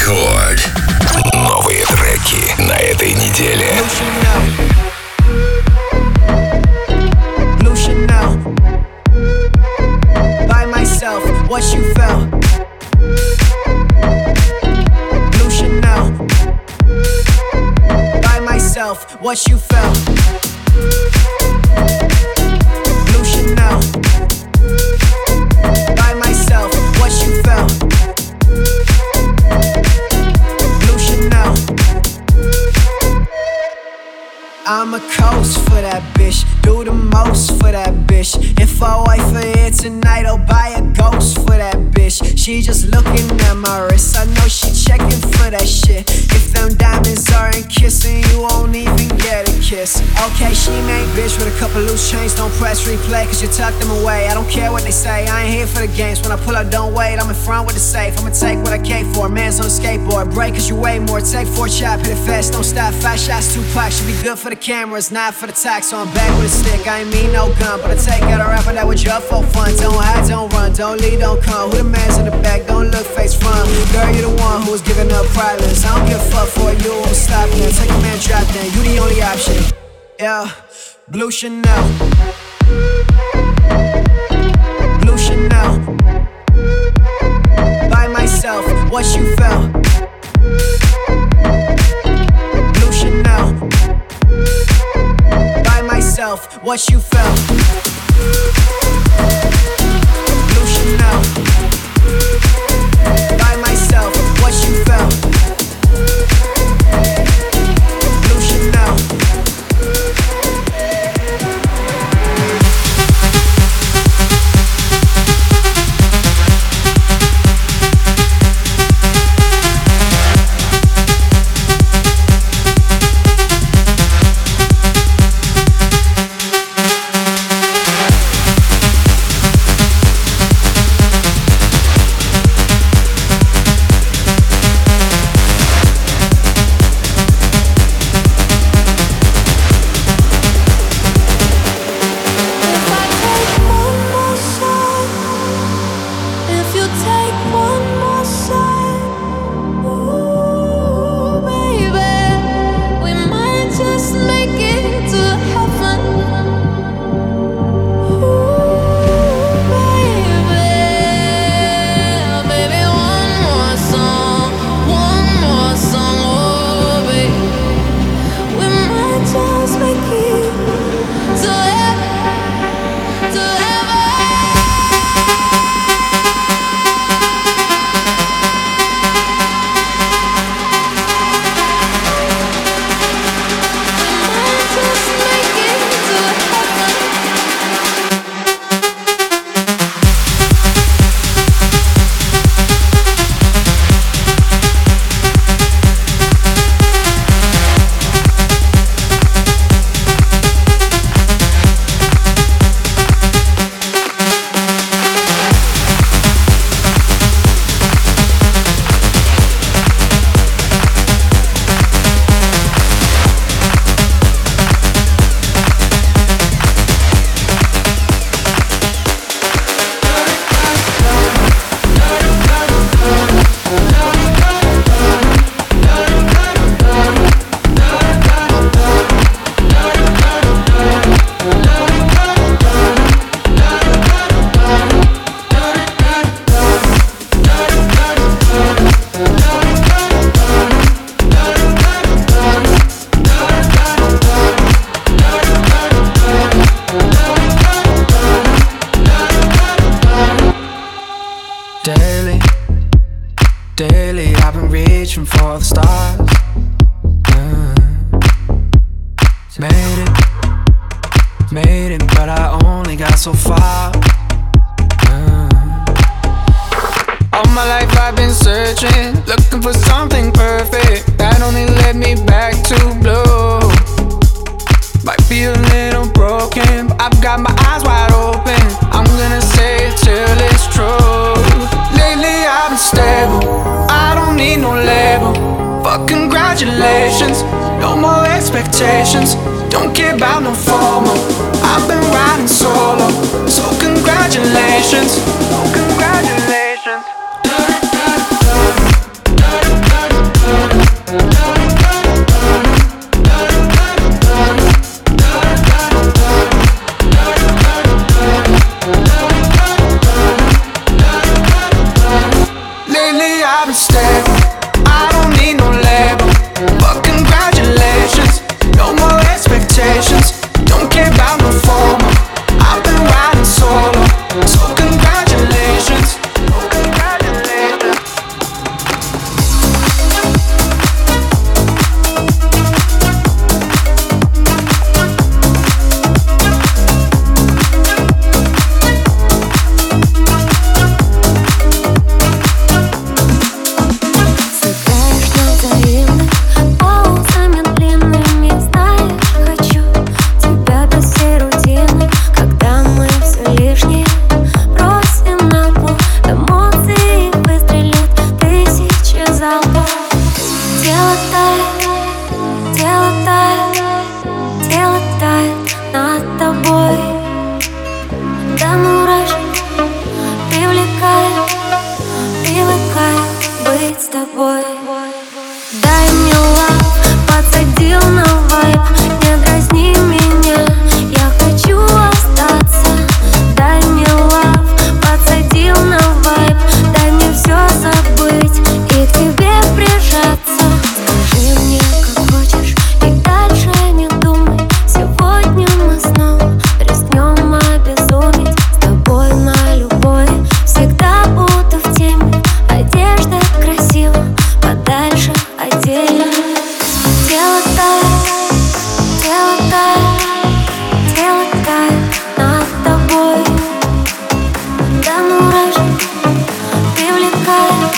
Рекорд. Новые треки на этой неделе. Blue Chanel. By myself, what you felt? Blue Chanel. By myself, what you felt? Blue Chanel. By myself, what you felt? Blue Chanel. I'ma coast for that bitch, do the most for that bitch. If I wait for it tonight, I'll buy a ghost for that bitch. She just looking at my wrist, I know she checking for that shit. If them diamonds aren't kissing, you won't even get a kiss. Okay, she main bitch with a couple loose chains, don't press replay, cause you tuck them away. I don't care what they say, I ain't here for the games. When I pull up, don't wait, I'm in front with the safe. I'ma take what I came for, man's on a skateboard. Break cause you weigh more, take 4 chop, hit it fast, don't stop. 5 shots, 2 packs, should be good for the cameras, not for the tax. So I'm back with a stick, I ain't mean no gun, but I take out a rapper that would jump for fun. Don't hide, don't run, don't lead, don't come. Who the man's in the back, don't look face front. Girl, you the one who was giving up problems. I don't give a fuck for you, I'm stopping it. Take a man, drop down, you the only option. Yeah, Blue Chanel. Blue Chanel. By myself, what you felt? Blue Chanel. By myself, what you felt? Blue Chanel. By myself, what you felt? Blue Chanel. Daily, I've been reaching for the stars. Made it, but I only got so far. All my life I've been searching, looking for something perfect that only led me back to blue. Might be a little broken, but I've got my eyes wide open. I'm gonna say it till it's true. Lately I've been stable, I don't need no label. Fuck congratulations, no more expectations. Don't care about no formal, I've been riding solo. So congratulations, oh congratulations. I'm stable. I don't need no label, but congratulations, no more expectations. Don't care about no formal, I've been riding solo. So congratulations, oh congratulations. Дай мне лав, подсадил на вайб. Не дразни меня, я хочу остаться. Дай мне лав, подсадил на вайб. Дай мне все забыть и к тебе прижаться. Скажи мне, как хочешь, и дальше не думай. Сегодня мы снова рискнем обезуметь. С тобой на любовь всегда буду в теме. Одежда красива, подальше отдельно. Тело тает, тело тает, тело тает над тобой. До мурашек привлекает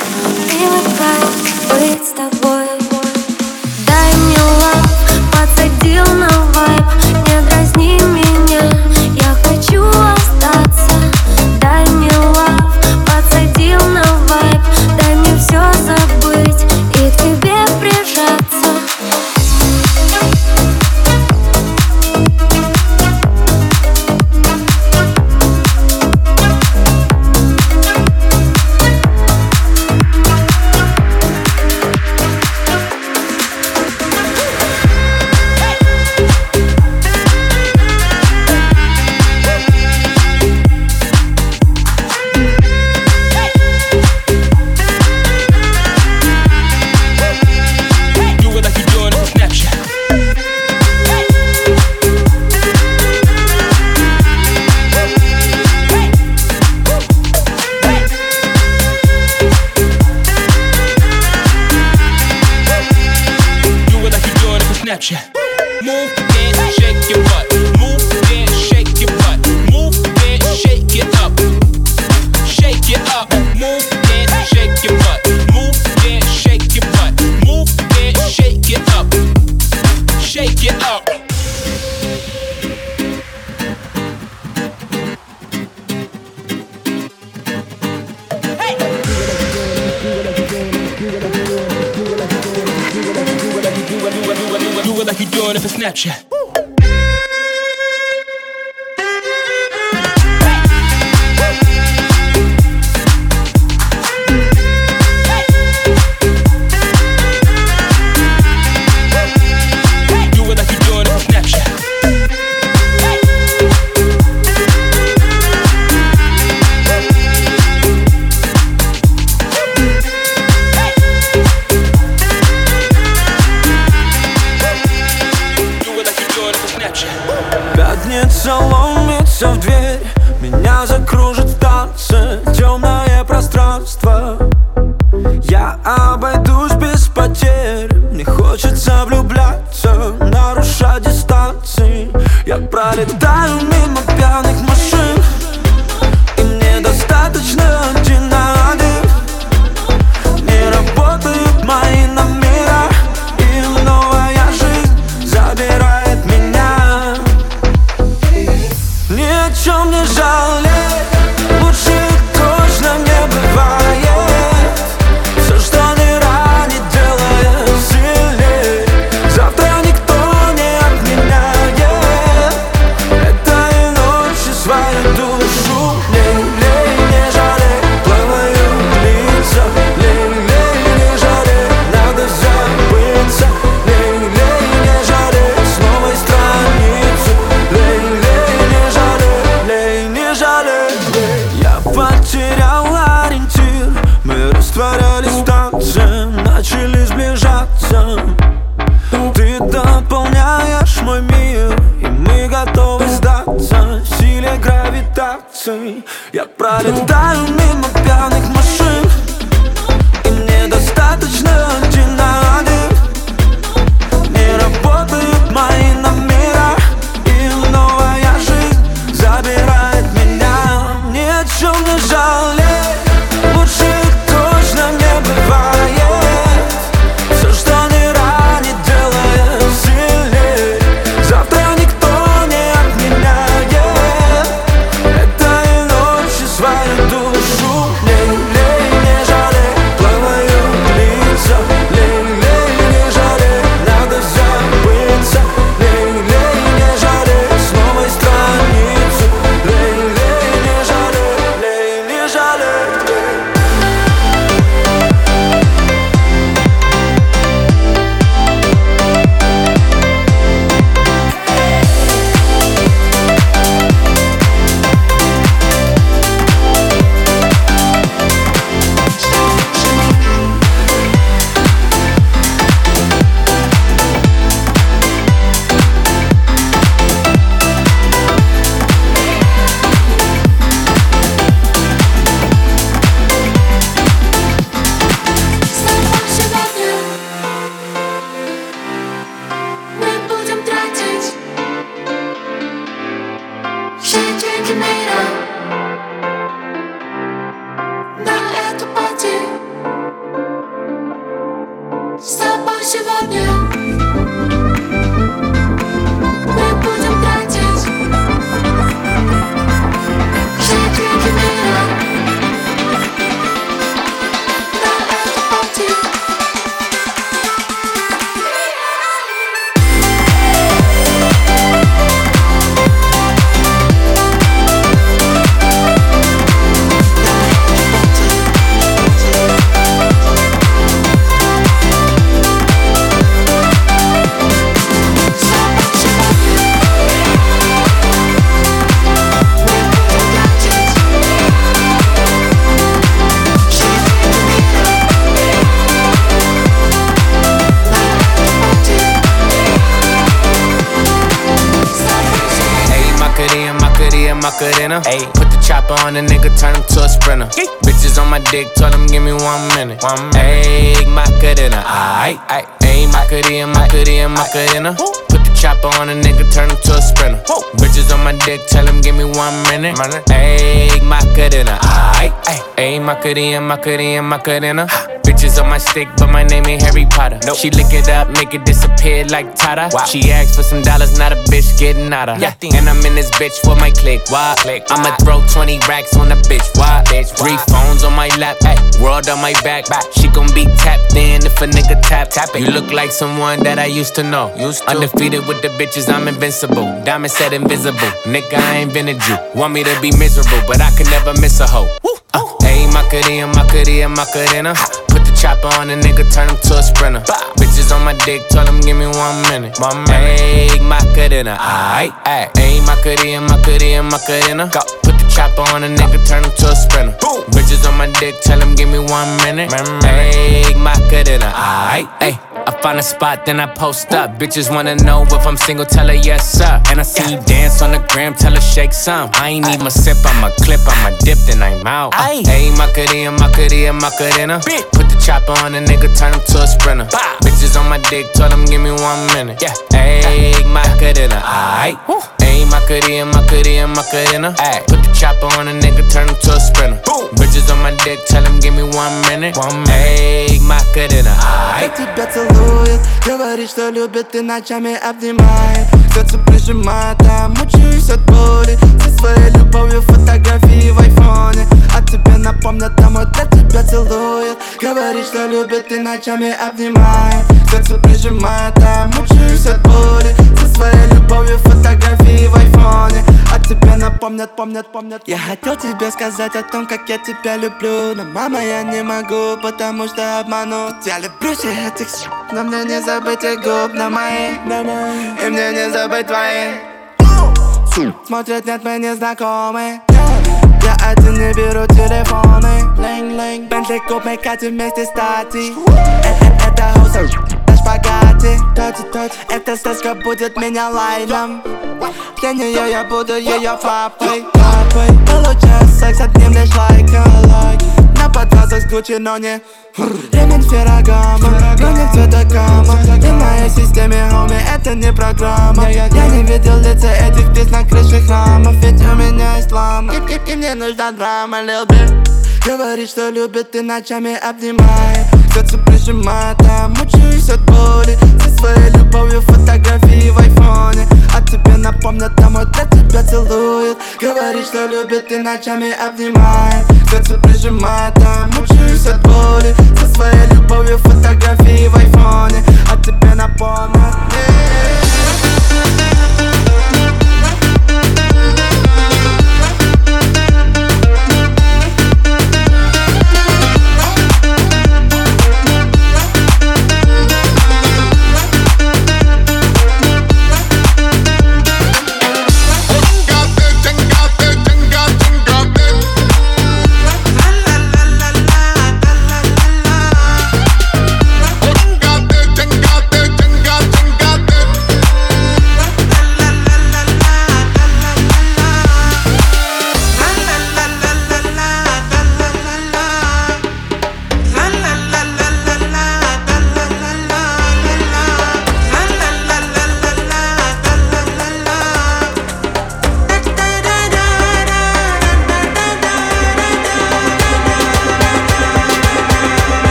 быть с тобой. Дай мне лав, подсадил на вайб. Не дразни меня, я хочу остаться. Дай мне лав, подсадил на вайб. Дай мне все забыть и к тебе прижаться. Snapchat. Move, dance, shake your butt. Move, dance, shake your butt. Move, dance, shake it up. Shake it up. Move, dance, shake your butt. Move, dance, shake your butt. Move, dance, shake it up. Shake it up. Do it like you're doing it for Snapchat. Пятница ломится в дверь, меня закружит в танце темное пространство. Я обойдусь без потерь, мне хочется влюбляться, нарушать дистанции. Я пролетаю мимо пьяных машин, и мне достаточно один на один. Не работают мои номера, и новая жизнь забирает меня. Ни о чем не жалеть, лучше точно не бывает. Все, что не ранит, делает сильней. Завтра никто не отменяет этой ночи свою. растворялись в танце, начали сближаться. Ты дополняешь мой мир, и мы готовы сдаться силе гравитации. Я пролетаю мимо пьяных машин, и мне достаточно один на один. Не работают мои номера, и новая жизнь забирает меня. Ни о чем не жалей, лучше точно не бывает. Все, что не ранит, делает сильней. Завтра никто не отменяет этой ночи свою душу. Лей-лей, не жалей, плавают лица. Лей-лей, не жалей, надо забыться. Лей-лей, не жалей, с новой страницы. Лей-лей, не жалей, лей, не жалей. Мы будем тратить все деньги мира на эту пати. С тобой сегодня мы будем тратить все деньги мира на эту пати. Macarena. Put the chopper on the nigga, turn him to a sprinter. Bitches on my dick, told him give me 1 minute. Ayy, Macarena. Aight, ayy, Macarena. Put the chopper on a nigga, turn him to a sprinter. Bitches on my dick, tell him give me 1 minute. Ayy, Macarena. Aight, ayy, Macarena. Bitches on my stick, but my name ain't Harry Potter. She lick it up, make it disappear like Tata. She asked for some dollars, not a bitch getting out of. And I'm in this bitch for my click. Why? I'ma throw 20 racks on a bitch. Why? 3 phones on my lap, world on my back. She gon' be tapped in if a nigga tap it. You look like someone that I used to know. Undefeated with the bitches, I'm invincible. Diamond said invisible. Nigga, I ain't been a Jew. Want me to be miserable, but I can never miss a hoe. Ayy, Macarena. Put the chopper on a nigga, turn him to a sprinter. Bitches on my dick, told him give me 1 minute. Ayy, Macarena. Aight, ayy, Macarena. Put the chopper on a nigga, turn him to a sprinter. Bitches on my dick, tell him give me 1 minute. Ayy, Macarena. Aight, ayy. I find a spot, then I post up. Bitches wanna know if I'm single, tell her yes, sir. And I see you dance on the gram, tell her shake some. I ain't need my sip, I'ma clip, I'ma dip, then I'm out. Ayy, Macarena. Put the chopper on a nigga, turn him to a sprinter. Bitches on my dick, told him give me 1 minute. Ayy, Macarena. Aight, ayy, Macarena. Put the chopper on a nigga, turn him to a sprinter. Bitches on my dick, tell him give me 1 minute. Ayy, Macarena. Aight. Тебя целует, говорит, что любит и ночами обнимает. Сердце прижимает, а мучаюсь от боли. Со своей любовью фотографии в айфоне. А тебе напомнят, домой для тебя целует. Говорит, что любит и ночами обнимает. Сердце прижимает, а мучаюсь от боли. Со своей любовью фотографии в айфоне. А тебе напомнят, помнят. Я хотел тебе сказать о том, как я тебя люблю. Но, мама, я не могу, потому что обману. Я люблю всех этих но мне не забыть их губ на мои. И мне не забыть твои. Смотрят, нет, мы не знакомы. я один не беру телефоны. Линг-линг, Бентли куб, мы катим вместе стати. Это хоуса, на шпагате. Эта сказка будет меня лайном. Для нее я буду ее папой. Получаю секс, одним лишь лайком. На подвязах с Гуччи, но не ремень Феррагамо, но не цвета гамма. Ты в моей системе, хоми, это не программа. Я не видел лица этих птиц на крыше храмов. Ведь у меня ислам, и мне нужна драма, Lil Bit. Говорит, что любит и ночами обнимает. Сердце прижимает, а мучаюсь от боли. Со своей любовью фотографии в айфоне. А тебе напомнят, домой для тебя целует. Говорит, что любит и ночами обнимает. Сердце прижимает, а мучаюсь от боли. Со своей любовью фотографии в айфоне. А тебе напомнят.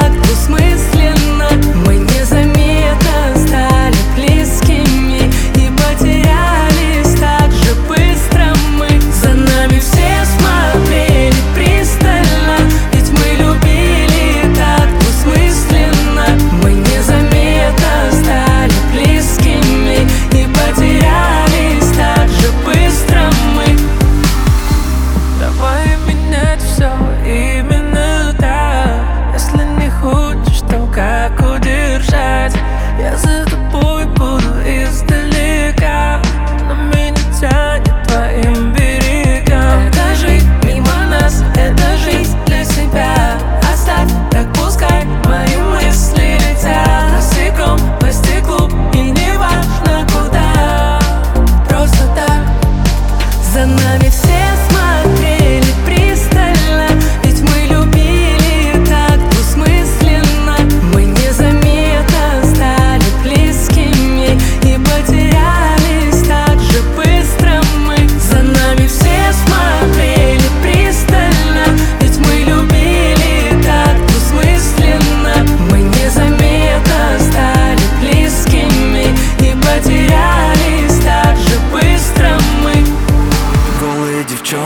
Двусмысленно мы незаметно стали близкими. И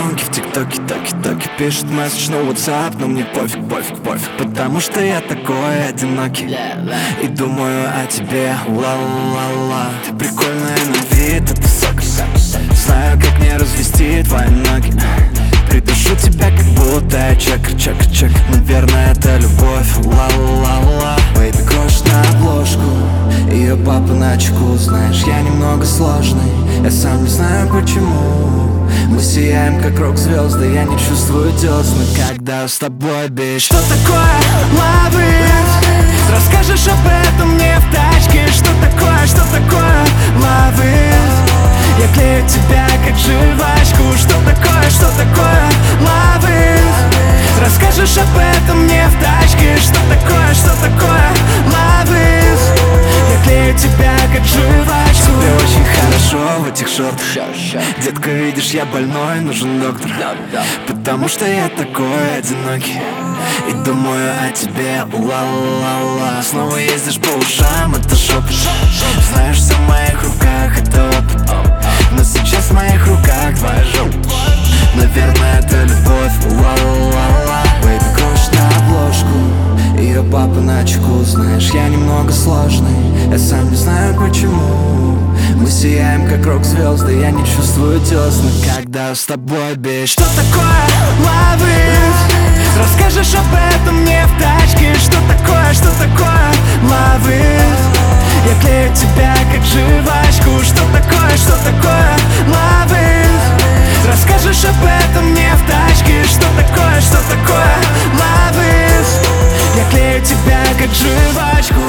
девчонки в тиктоке, токи-токи пишут месседж на WhatsApp, но мне пофиг, потому что я такой одинокий и думаю о тебе, ла-ла-ла. Ты прикольная на вид, это сок. Знаю, как мне развести твои ноги. Придушу тебя, как будто я чек. Наверное, это любовь, ла-ла-ла. Бэйби крошит на обложку, ее папа на чеку. Знаешь, я немного сложный, я сам не знаю почему. Мы сияем, как рок-звезды, я не чувствую десны, когда с тобой, бич. Что такое love is? Расскажешь об этом мне в тачке. Что такое love is? Я клею тебя, как жвачку. Что такое love is? Расскажешь об этом мне в тачке. Что такое love is? Я клею тебя, как жвачку. Тебе очень хорошо в этих шортах. Детка, видишь, я больной, нужен доктор. Потому что я такой одинокий и думаю о тебе, ла-ла-ла. Снова ездишь по ушам, это шепот. Знаешь, все в моих руках, это опыт. Но сейчас в моих руках твоя жопа. Наверное, это любовь, ла-ла-ла. Бэйби крошит на обложку, ее папа на чеку. Знаешь, я немного сложный, я сам не знаю почему. Мы сияем, как рок-звезды, я не чувствую десны, когда с тобой, бич. Что такое love is? Расскажешь об этом мне в тачке. Что такое love is? Я клею тебя, как жвачку. Что такое love is? Расскажешь об этом мне в тачке. Что такое love is? Я клею тебя, как жвачку.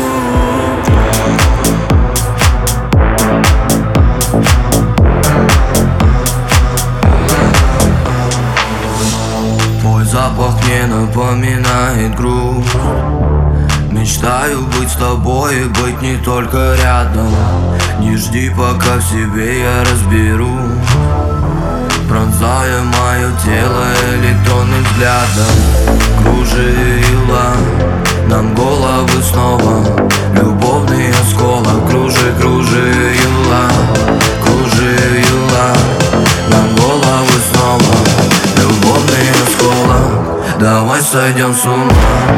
Твой запах мне напоминает грусть. Мечтаю быть с тобой и быть не только рядом. Не жди, пока в себе я разберу, пронзая мое тело электронным взглядом. Кружила нам головы снова любовный осколок. Кружила нам головы снова любовный осколок. Давай сойдем с ума.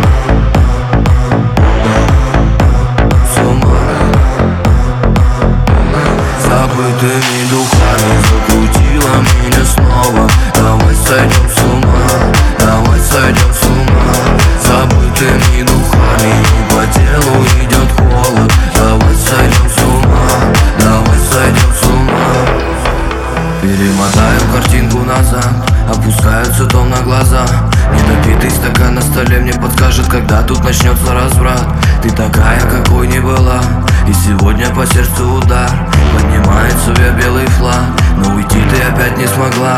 Забытыми духами закрутила меня снова. Давай сойдем с ума. Забытыми духами не по телу идет холод. Давай сойдем с ума. Перемотаю картинку назад, опускаются томно глаза. Недопитый стакан на столе мне подскажет, когда тут начнется разврат. Ты такая, какой не была, и сегодня по сердцу удар. Поднимает себе белый флаг, но уйти ты опять не смогла.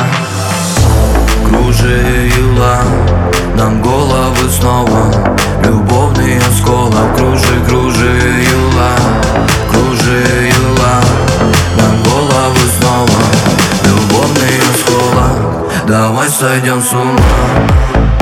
Кружила нам головы снова любовный осколок. Кружила нам головы снова любовный осколок. Давай сойдем с ума.